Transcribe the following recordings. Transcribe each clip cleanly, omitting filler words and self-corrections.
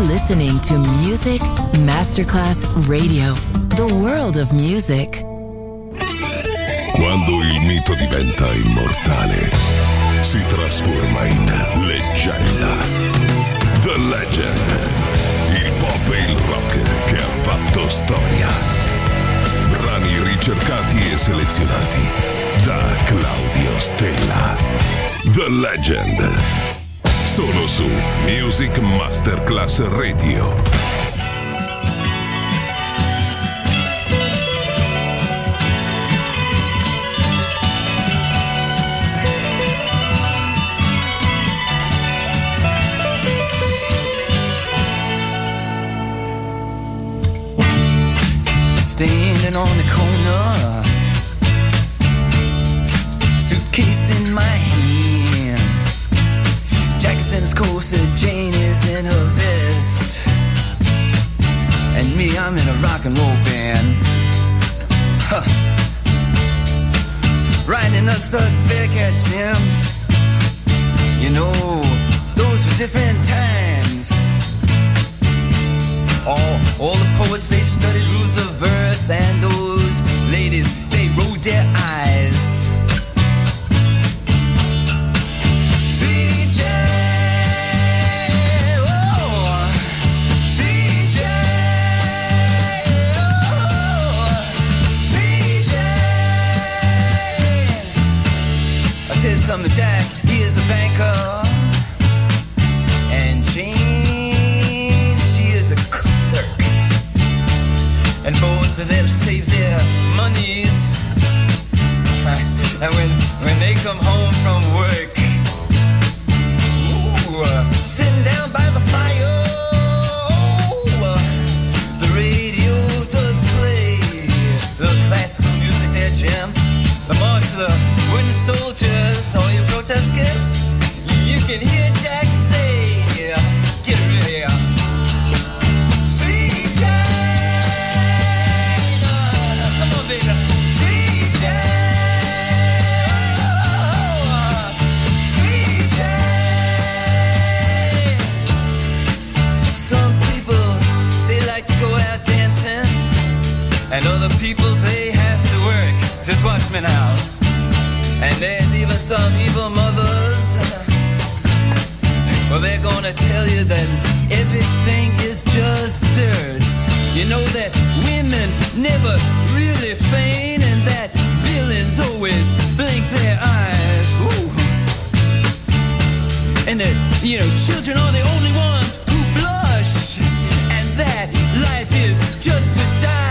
You're listening to Music Masterclass Radio, the world of music. Quando il mito diventa immortale, si trasforma in leggenda. The Legend. Il pop e il rock che ha fatto storia. Brani ricercati e selezionati da Claudio Stella. The Legend. Solo su Music Masterclass Radio. Standing on the corner, suitcase in my hand, Jackson's corset, Jane is in her vest, and me, I'm in a rock and roll band. Huh. Riding the studs back at Jim. You know, those were different times. All the poets, they studied rules of verse, and those ladies, they rolled their eyes. Sweet Jane, oh, Sweet Jane, oh, Sweet Jane. I'll tell you something, Jack, he is a banker, and Jane, she is a clerk. And both of them save their monies. And when they come home from work, ooh, sitting down by the fire, the radio does play the classical music there, Jim. The march of the wooden soldiers, all you protesters, you can hear Jack say, get ready. And other people say have to work. Just watch me now. And there's even some evil mothers. Well, they're gonna tell you that everything is just dirt. You know that women never really feign, and that villains always blink their eyes. Ooh. And that, you know, children are the only ones who blush. And that life is just to die.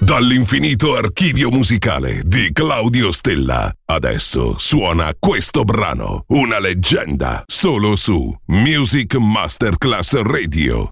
Dall'infinito archivio musicale di Claudio Stella. Adesso suona questo brano, una leggenda, solo su Music Masterclass Radio.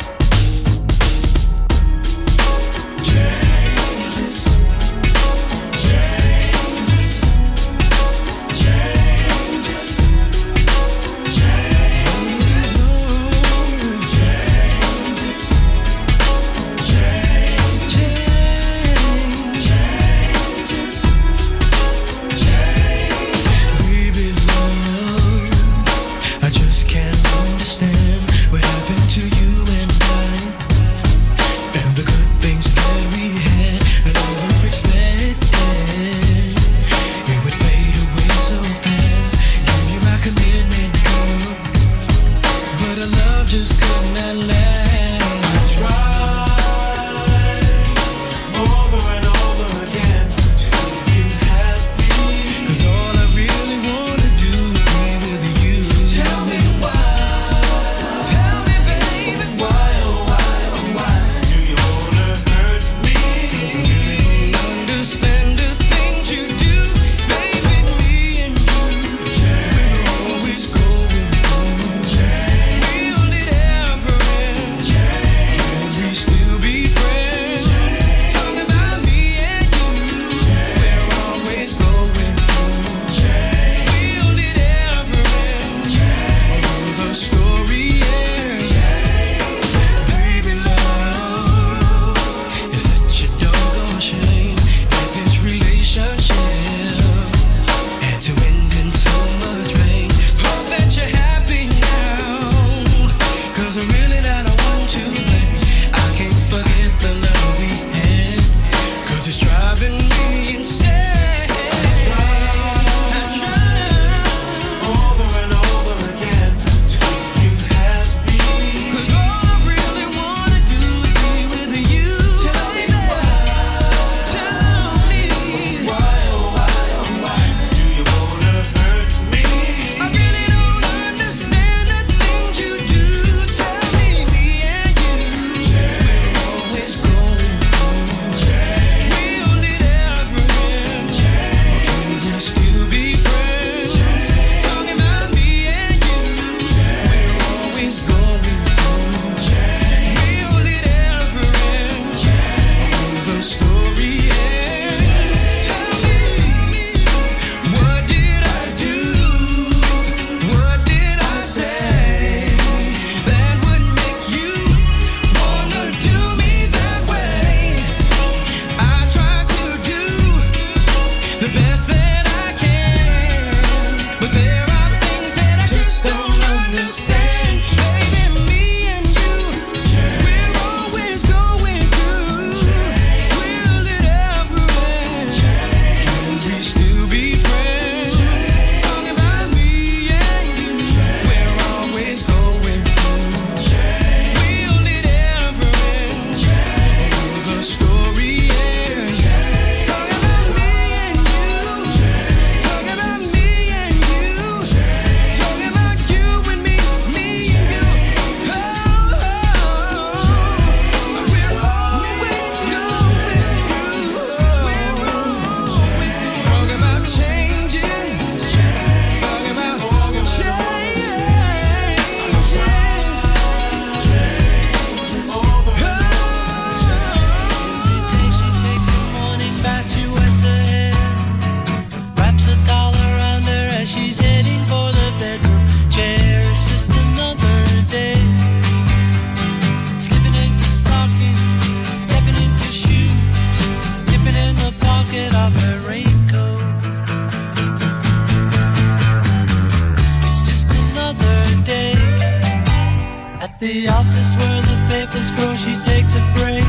The office where the papers grow, she takes a break,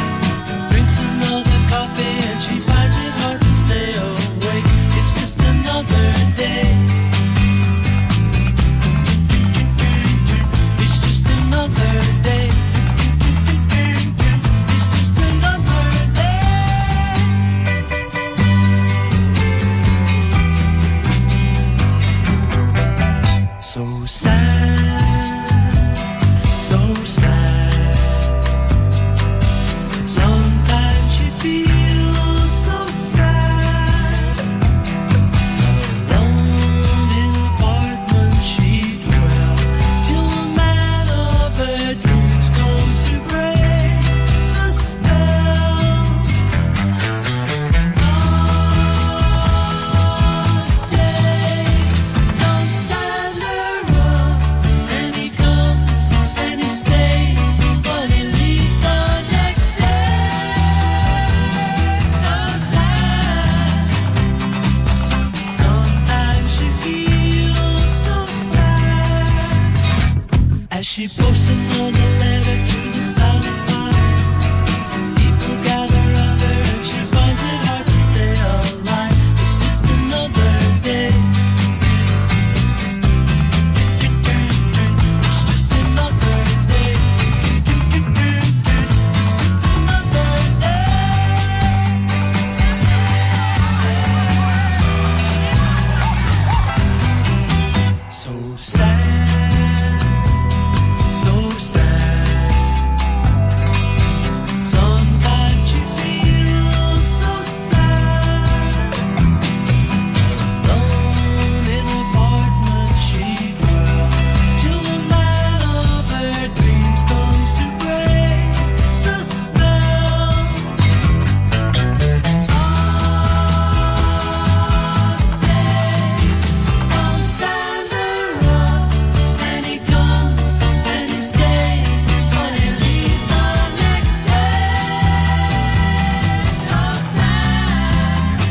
drinks another coffee, and she finds it hard to stay awake. It's just another day. It's just another day. It's just another day. So sad. So sad. she posts another letter to the silent fire. People gather around her and she finds it hard to stay alive. It's just another day. It's just another day. It's just another day. So sad, so sad. Sometimes you feel so sad. Alone in an apartment she dwells till the man of her dreams comes to break the spell. Oh, stay, don't stand around. And he comes and he stays, but he leaves the next day. So sad.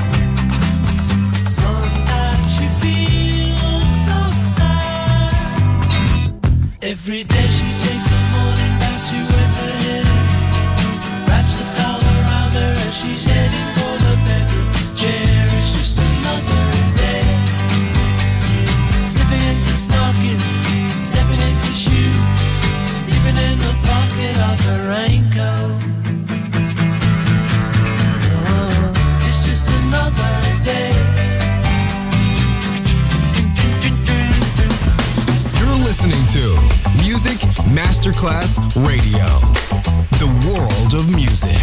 Sometimes she feels so sad. Every day she takes a morning bath, she wets her head, wraps a towel around her, and she's heading for the bedroom chair. It's just another day. Slipping into stockings, stepping into shoes, dipping in the pocket of her raincoat. It's just another day. You're listening to Music Masterclass Radio, the world of music.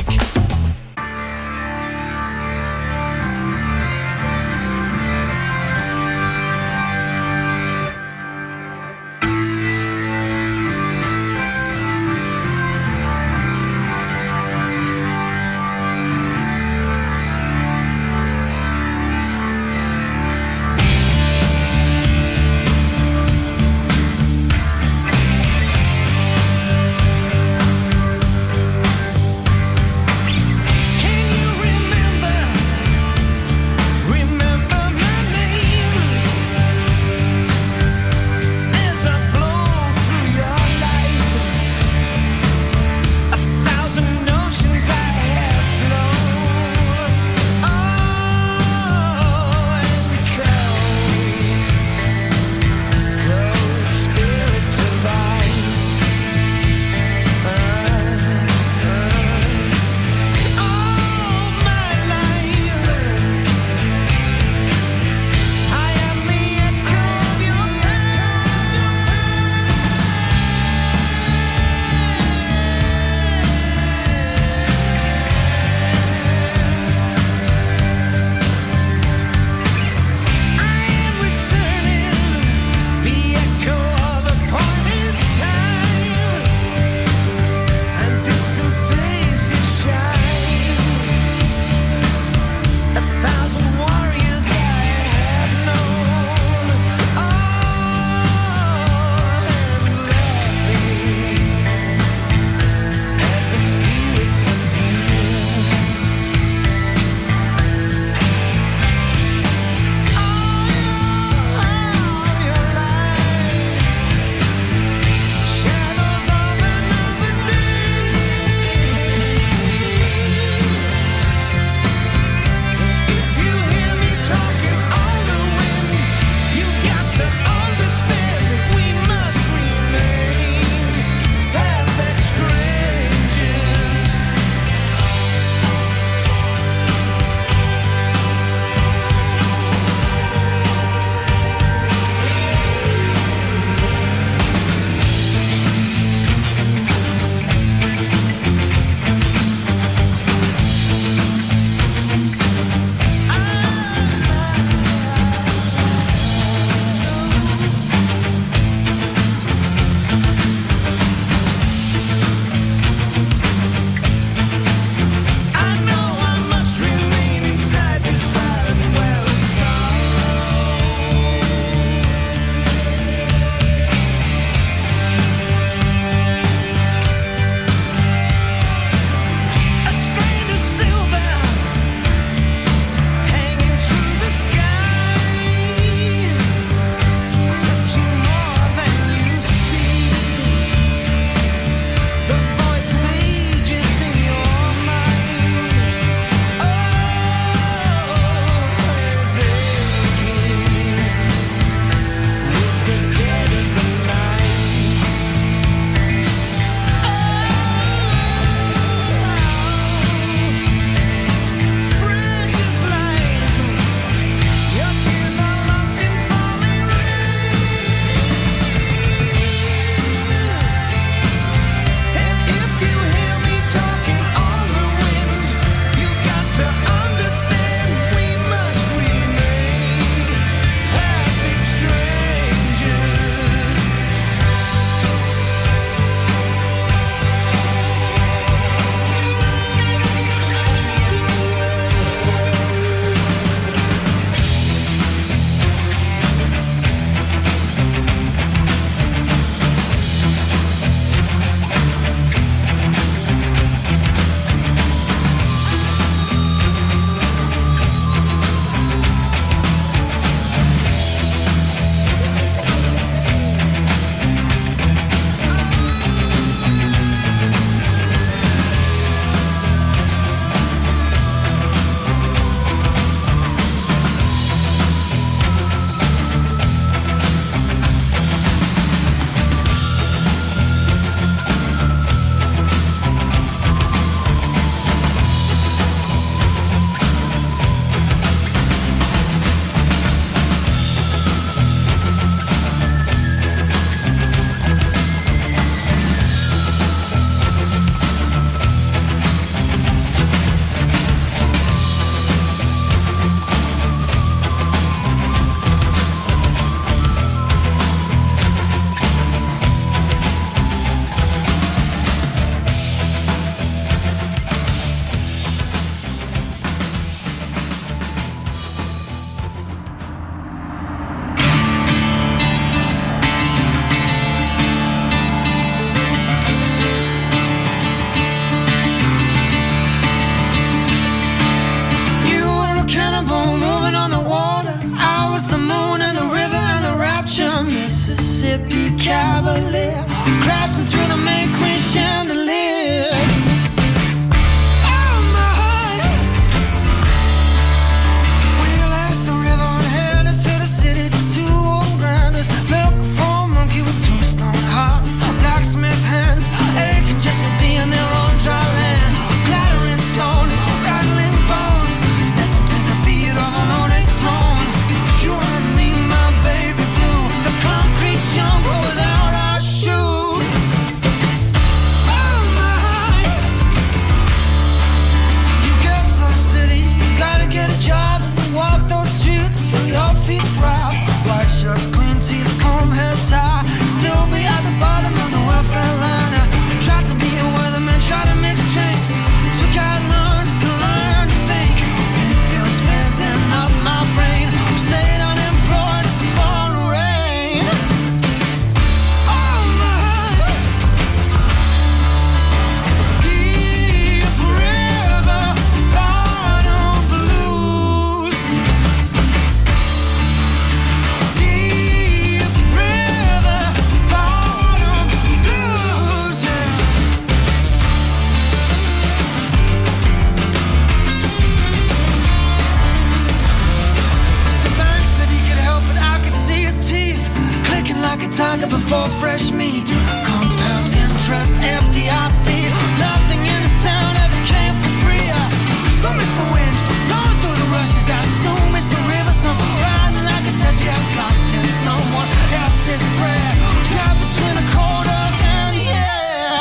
tiger before fresh meat. Compound interest, FDIC. Nothing in this town ever came for free. So miss the wind, blowing through the rushes. I so miss the river, some riding like a duck, just lost in someone else's prayer. Trapped between the cold earth and the air.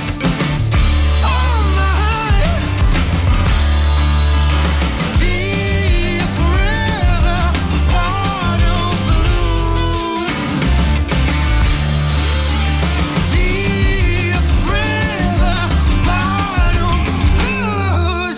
Oh my, deep river, water blues. Deep river, water blues,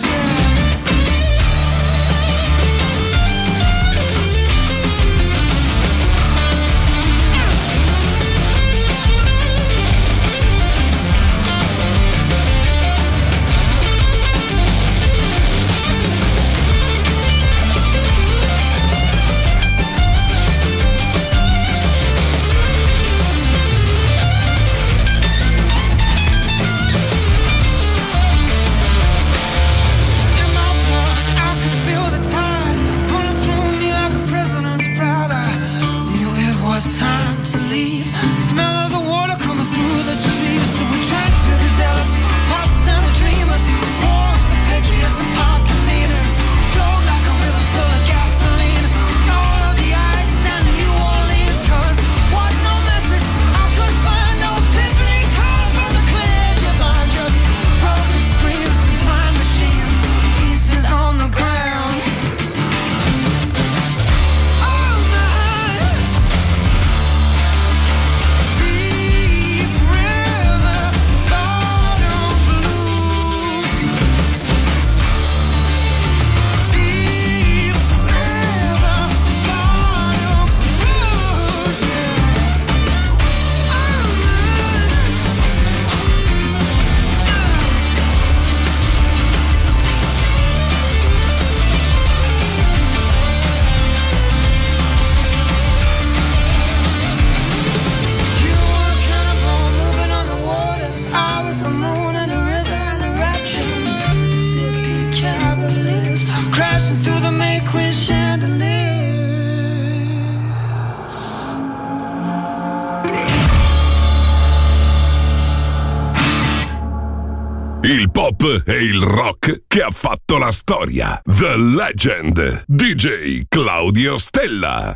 in my blood, I could feel the tide running through me like a prisoner's pride. I knew it was time to leave. Smell of the water coming through the trees. So we drank to the zealots, hearts and the dreamers, wars, the patriots and pocket leaders. Flowed like a river full of gasoline. All of the ice down in New Orleans. 'Cause was no message, I couldn't find no pimply call from the clear divine. Just broken screens and flying machines, pieces on the ground. Oh my, deep river, bottom blues. Deep river, bottom blues, You were a cannonball moving on the water. I was the moon and the river and the rapture. Mississippi Cavaliers crashing through the May Queen chandeliers. Il pop e il rock che ha fatto la storia. The Legend. DJ Claudio Stella.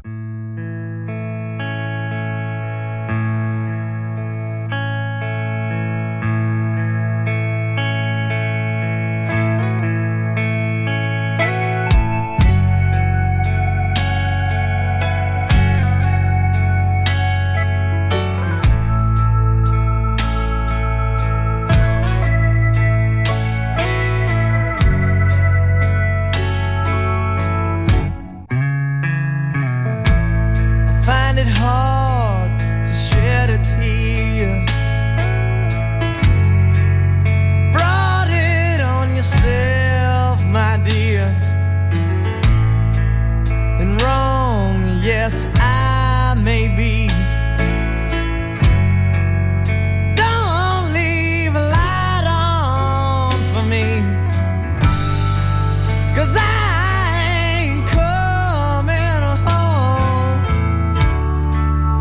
Find it hard to shed a tear. Brought it on yourself, my dear. And wrong, yes, I may be. Don't leave a light on for me, 'cause I ain't coming home.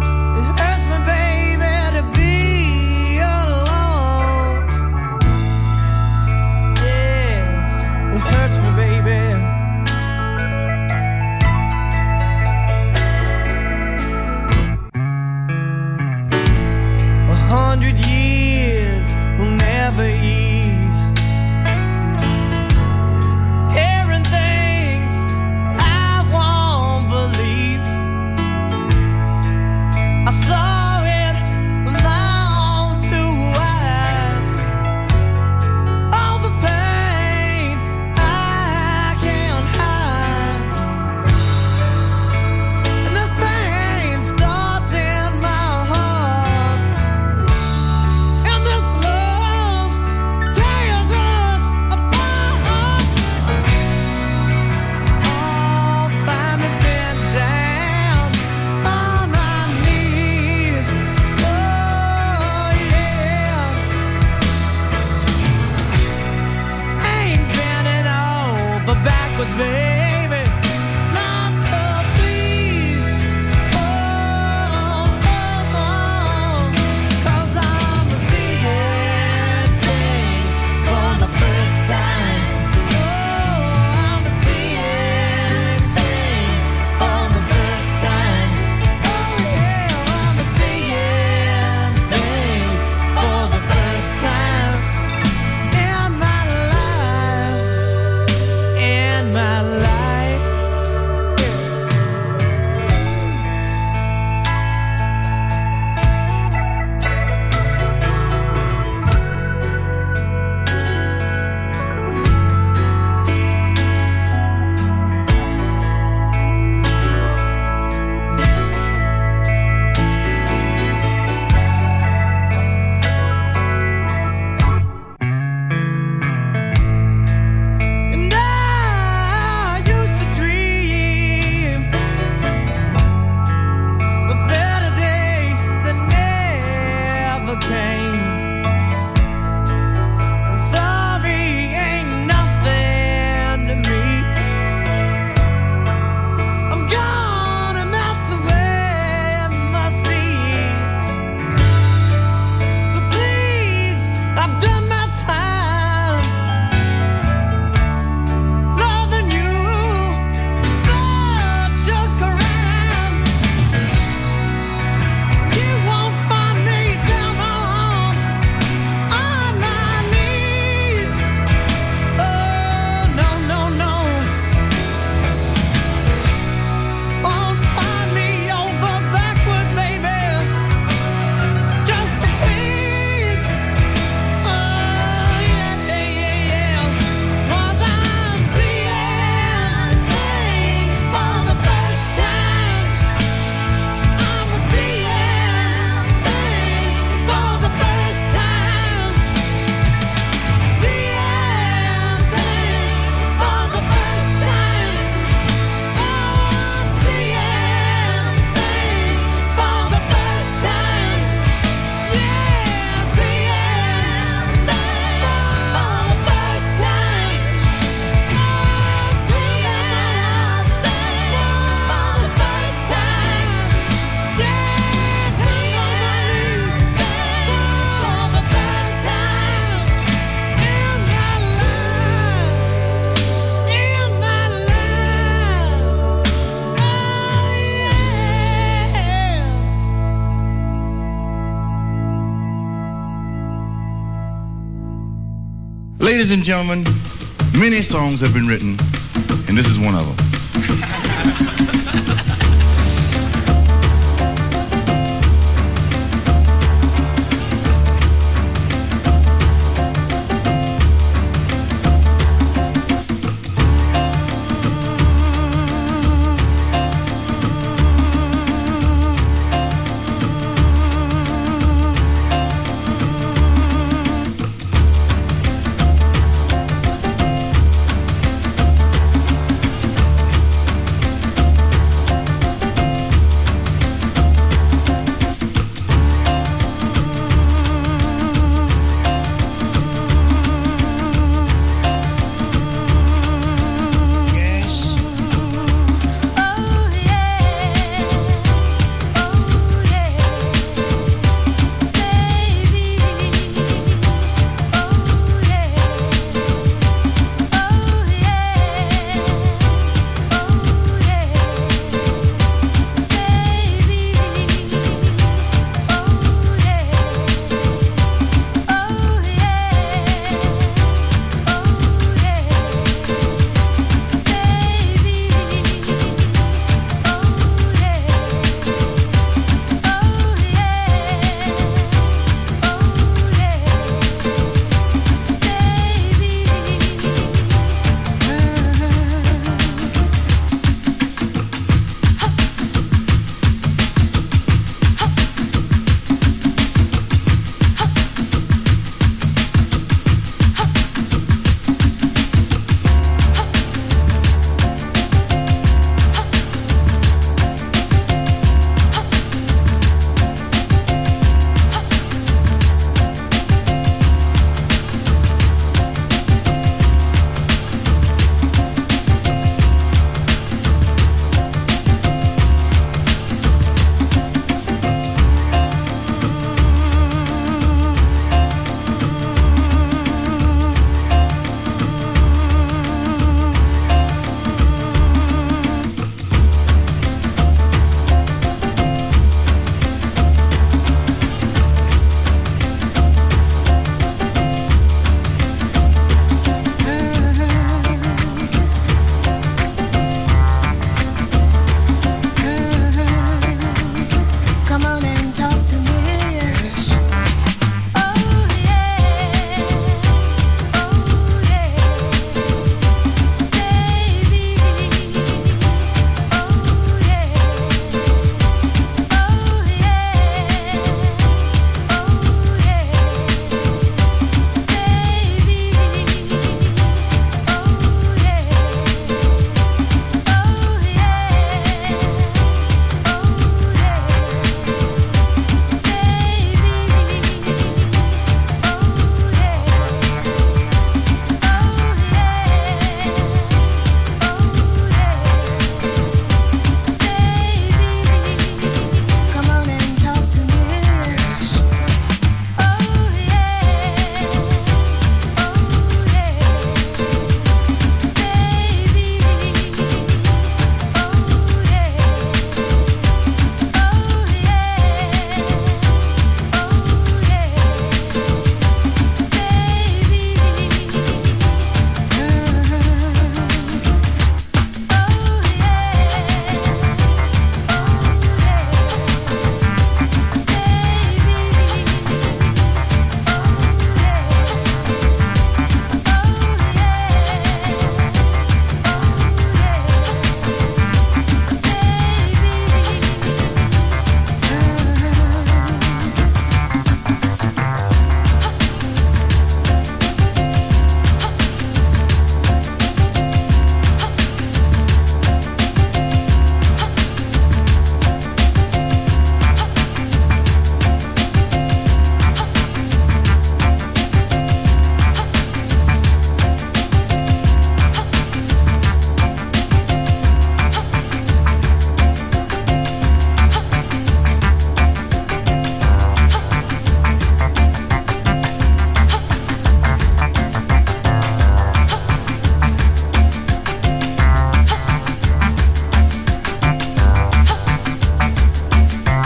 Ladies and gentlemen, many songs have been written, and this is one of them.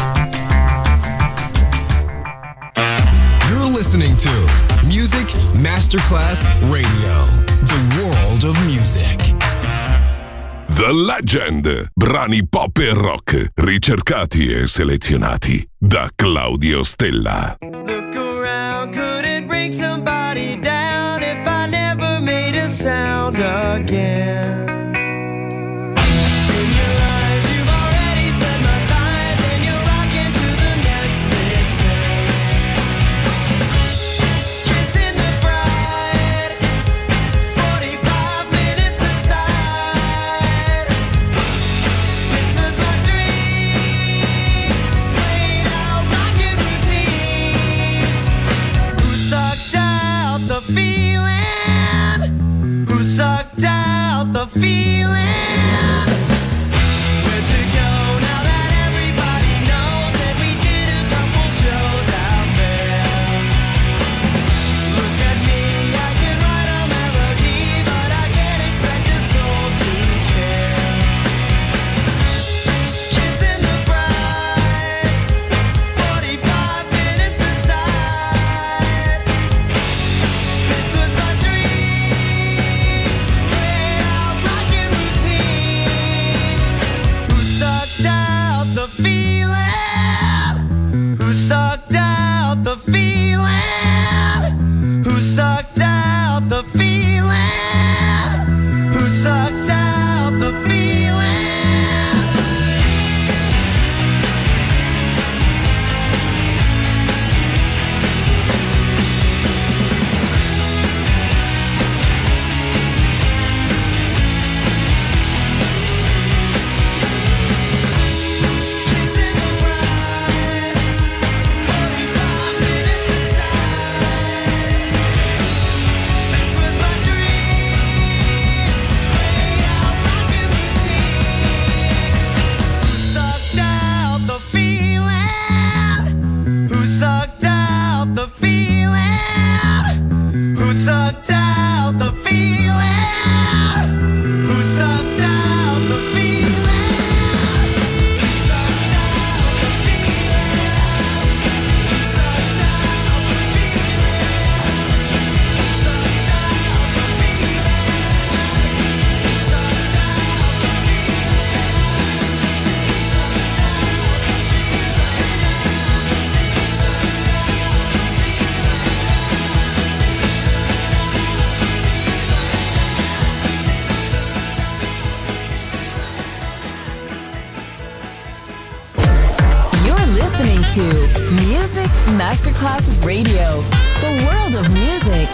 listening to Music Masterclass Radio. The world of music. The Legend. Brani pop e rock ricercati e selezionati da Claudio Stella. Look around, could it bring somebody down if I never made a sound again? To Music Masterclass Radio, the world of music.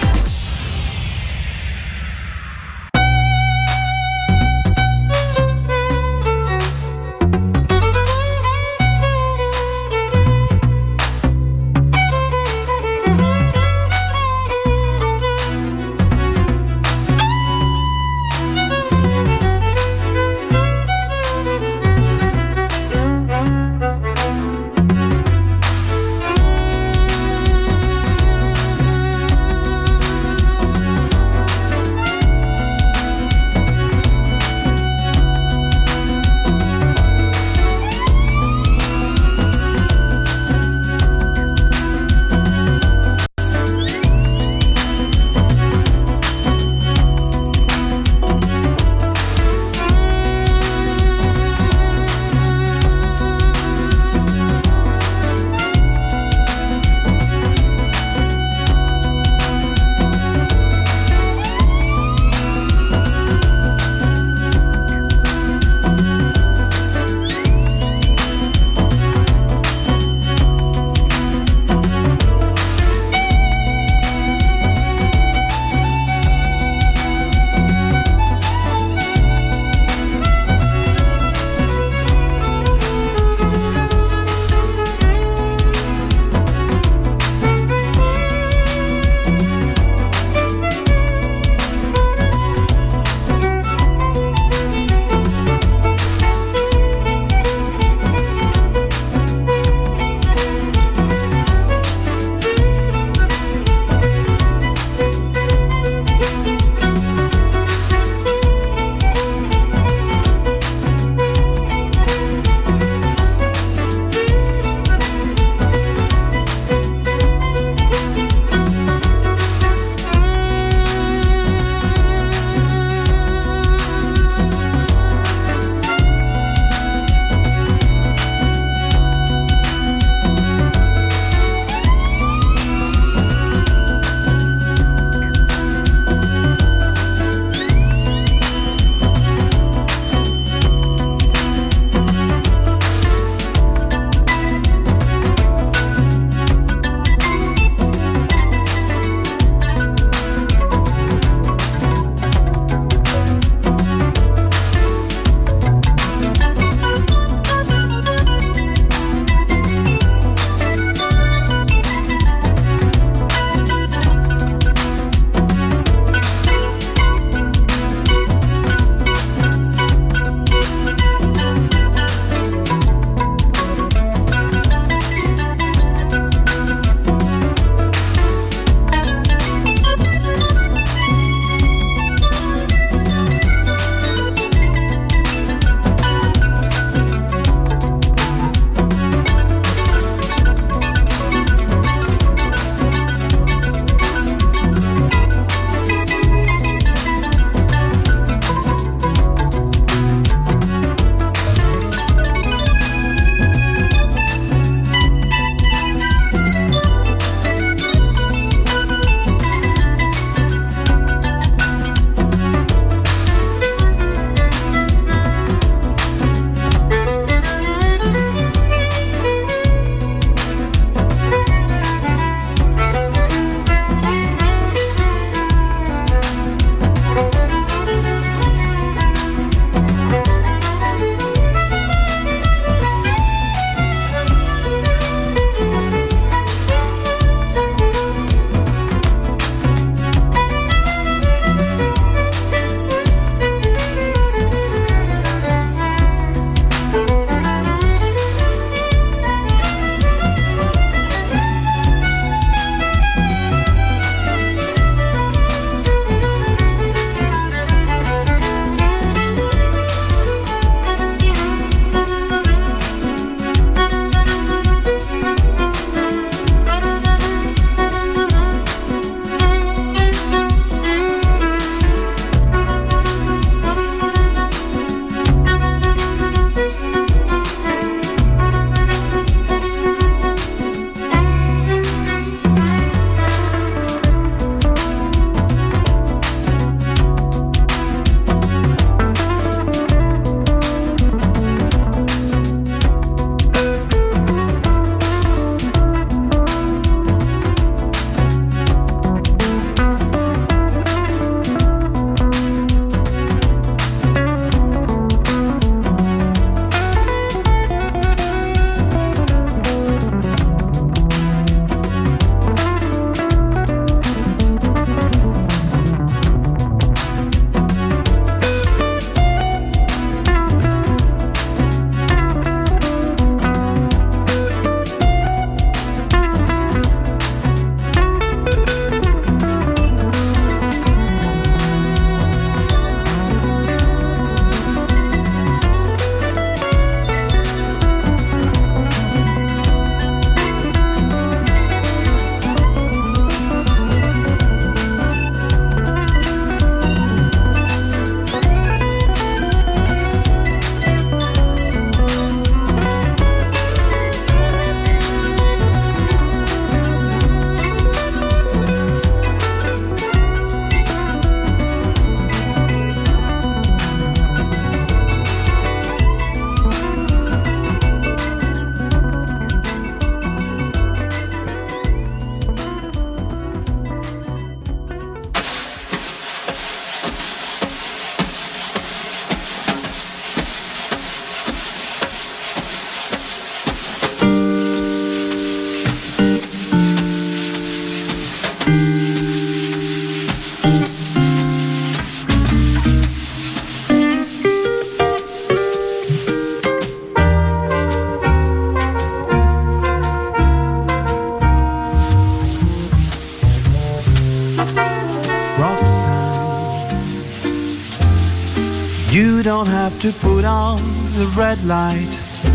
You don't have to put on the red light.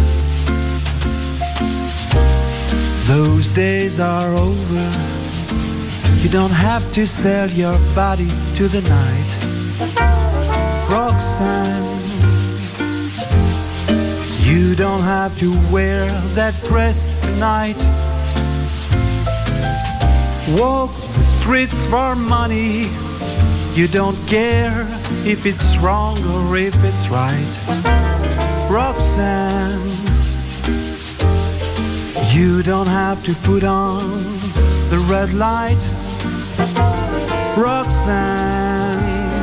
Those days are over. You don't have to sell your body to the night. Roxanne, you don't have to wear that dress tonight. Walk the streets for money. You don't care if it's wrong or if it's right. Roxanne, you don't have to put on the red light. Roxanne,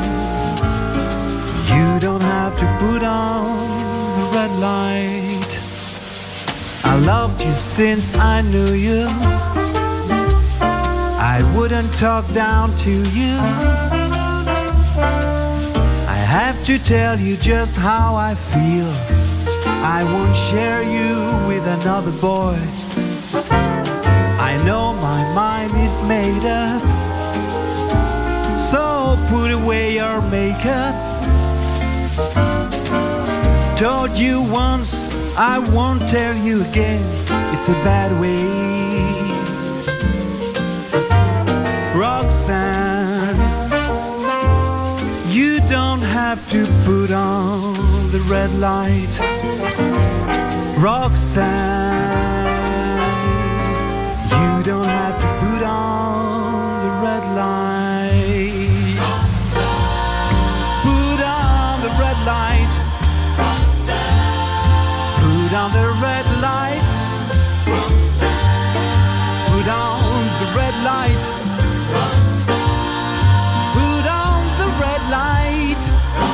you don't have to put on the red light. I loved you since I knew you. I wouldn't talk down to you. I have to tell you just how I feel. I won't share you with another boy. I know my mind is made up, so put away your makeup. Told you once, I won't tell you again. It's a bad way. Roxanne, you don't have to put on the red light. Roxanne, you don't have to put on the red light. Put on the red light. Put on the red light. Put on the red light. Put on the red light.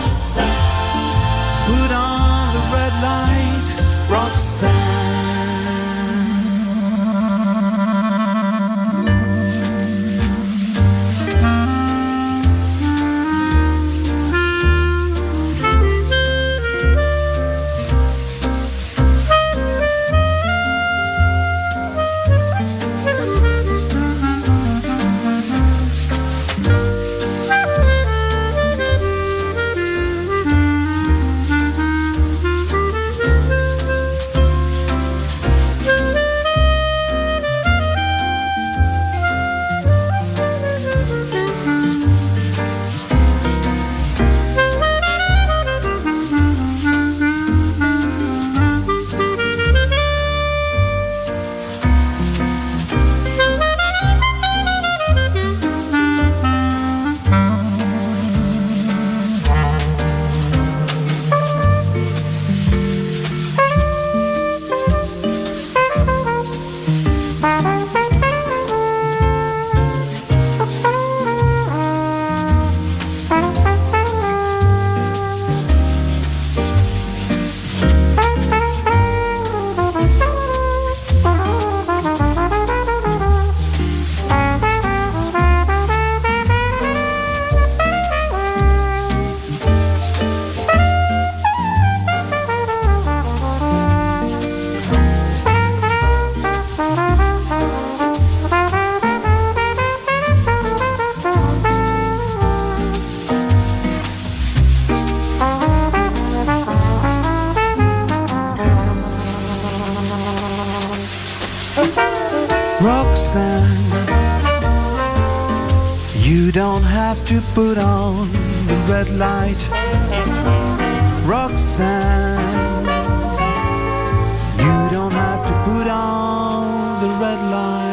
Put on the red light, Roxanne. You don't have to put on the red light, Roxanne. You don't have to put on the red light.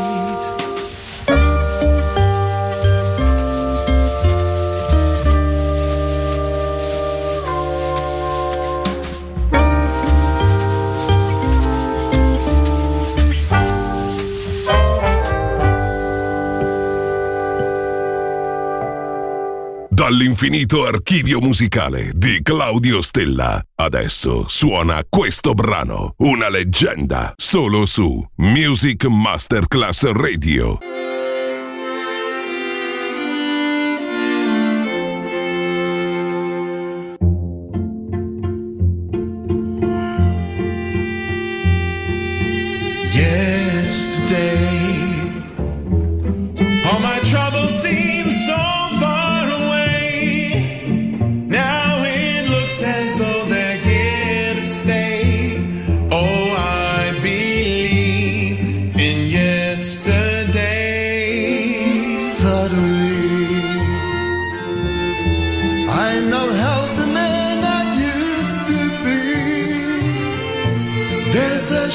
Dall'infinito archivio musicale di Claudio Stella. Adesso suona questo brano, una leggenda, solo su Music Masterclass Radio. Yesterday, all my troubles seem so far away. Now it looks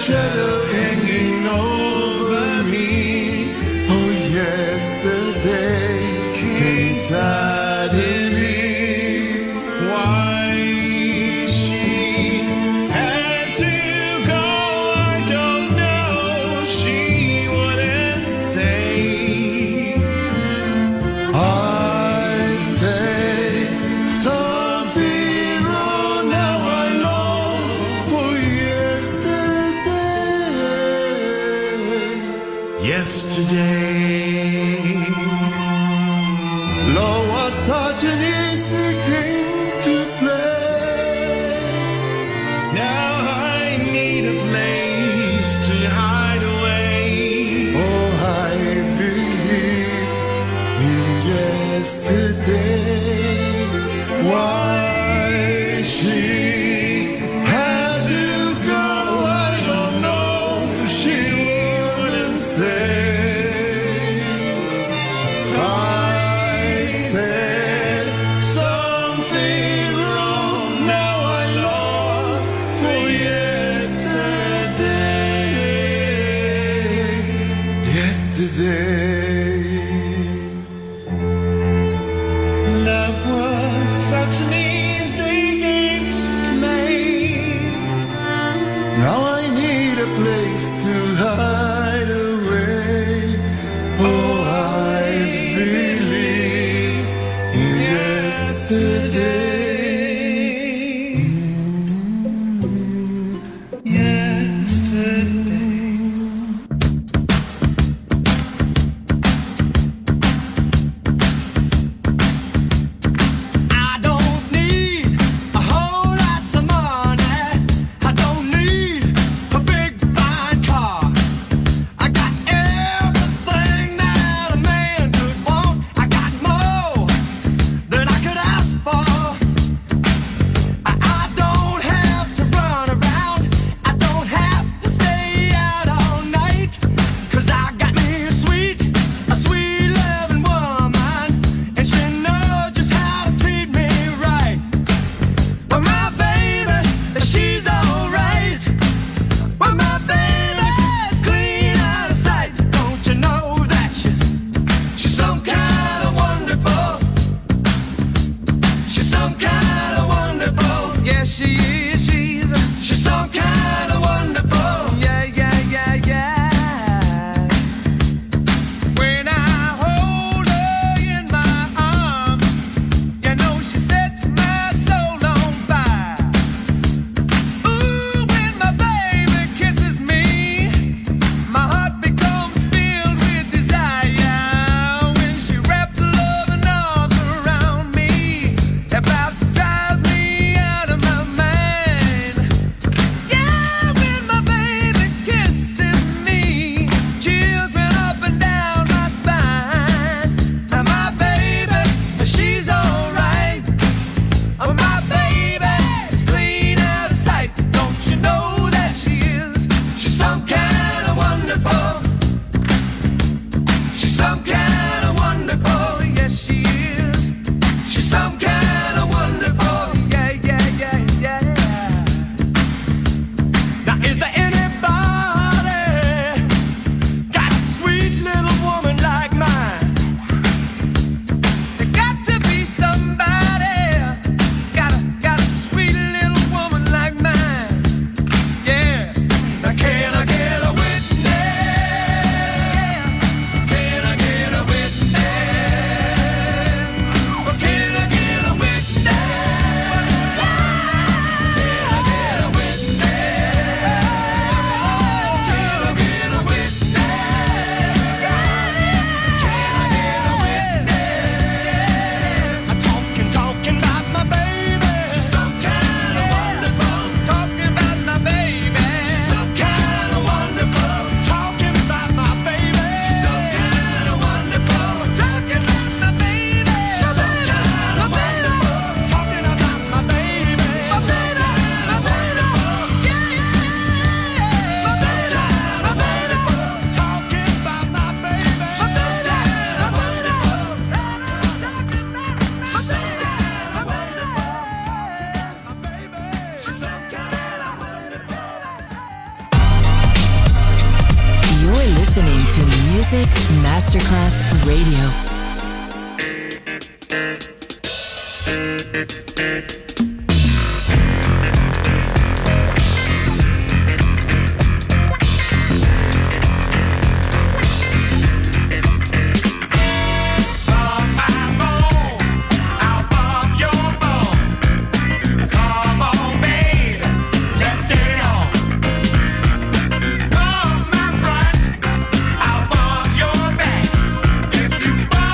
shadow hanging over me. Oh, yesterday came suddenly. Why she had to go, I don't know. She wouldn't say. I say something wrong. Now I long for yesterday. Yesterday, love was such an easy game to play. Now I need a place to hide away. Oh, I believe in yesterday. Why she had to go, I don't know. She wouldn't say. You're listening to Music Masterclass Radio. If you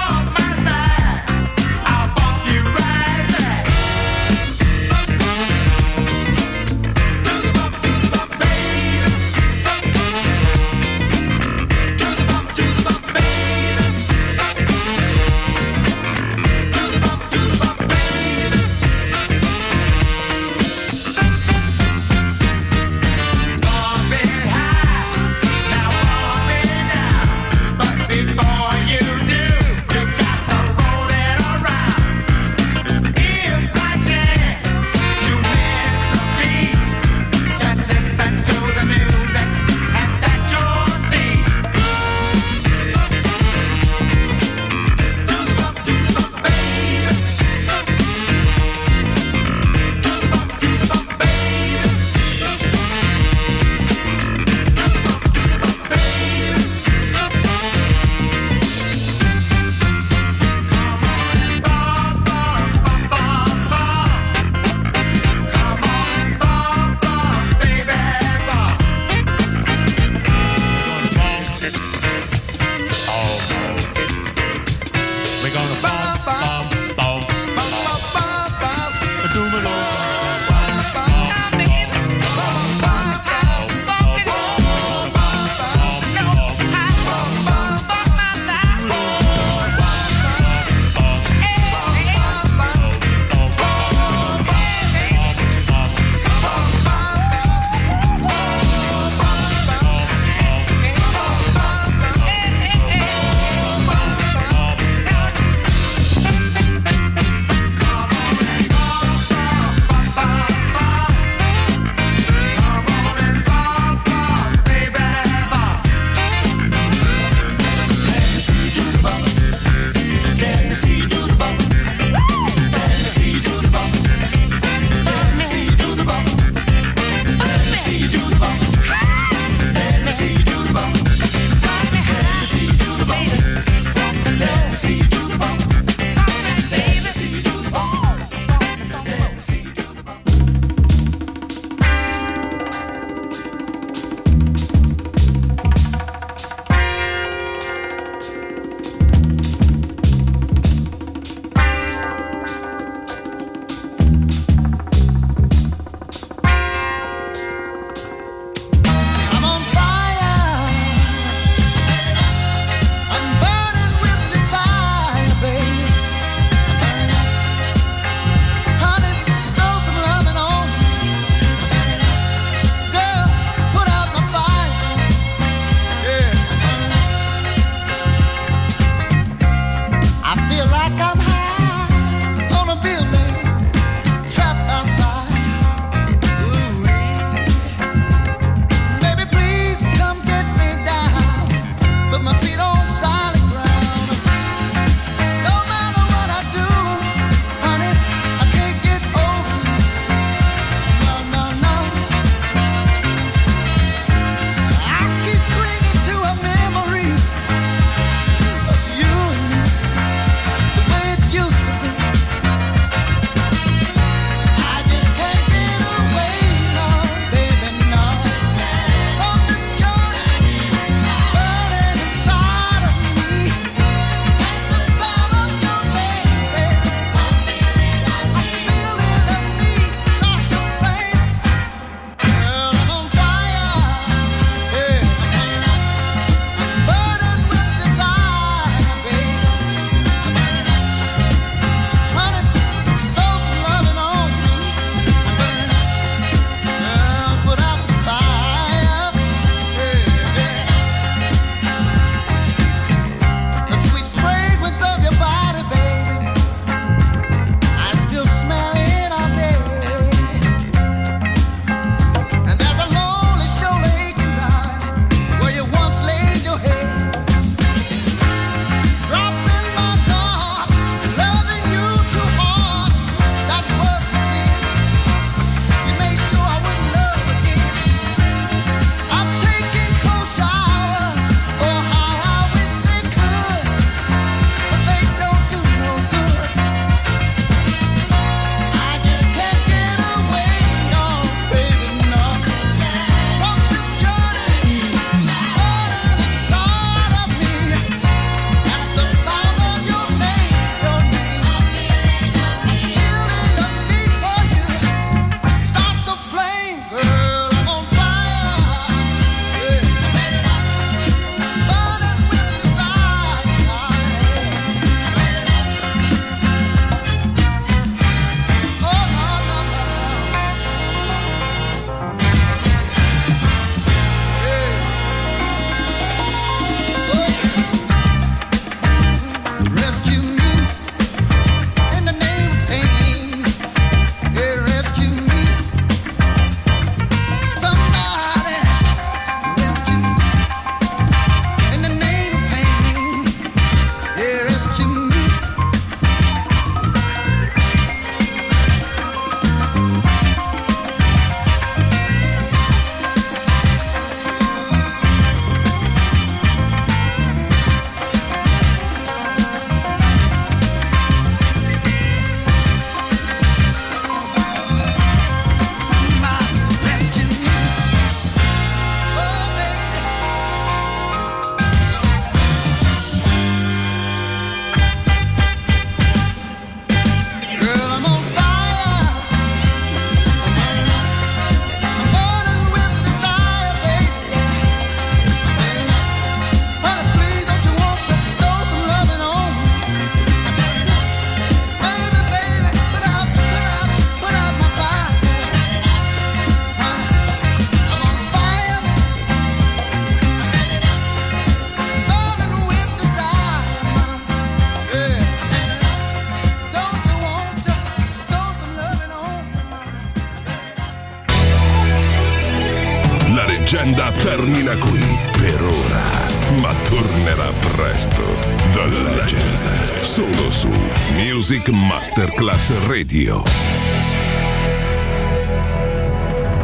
tornerà presto. The Legend, solo su Music Masterclass Radio.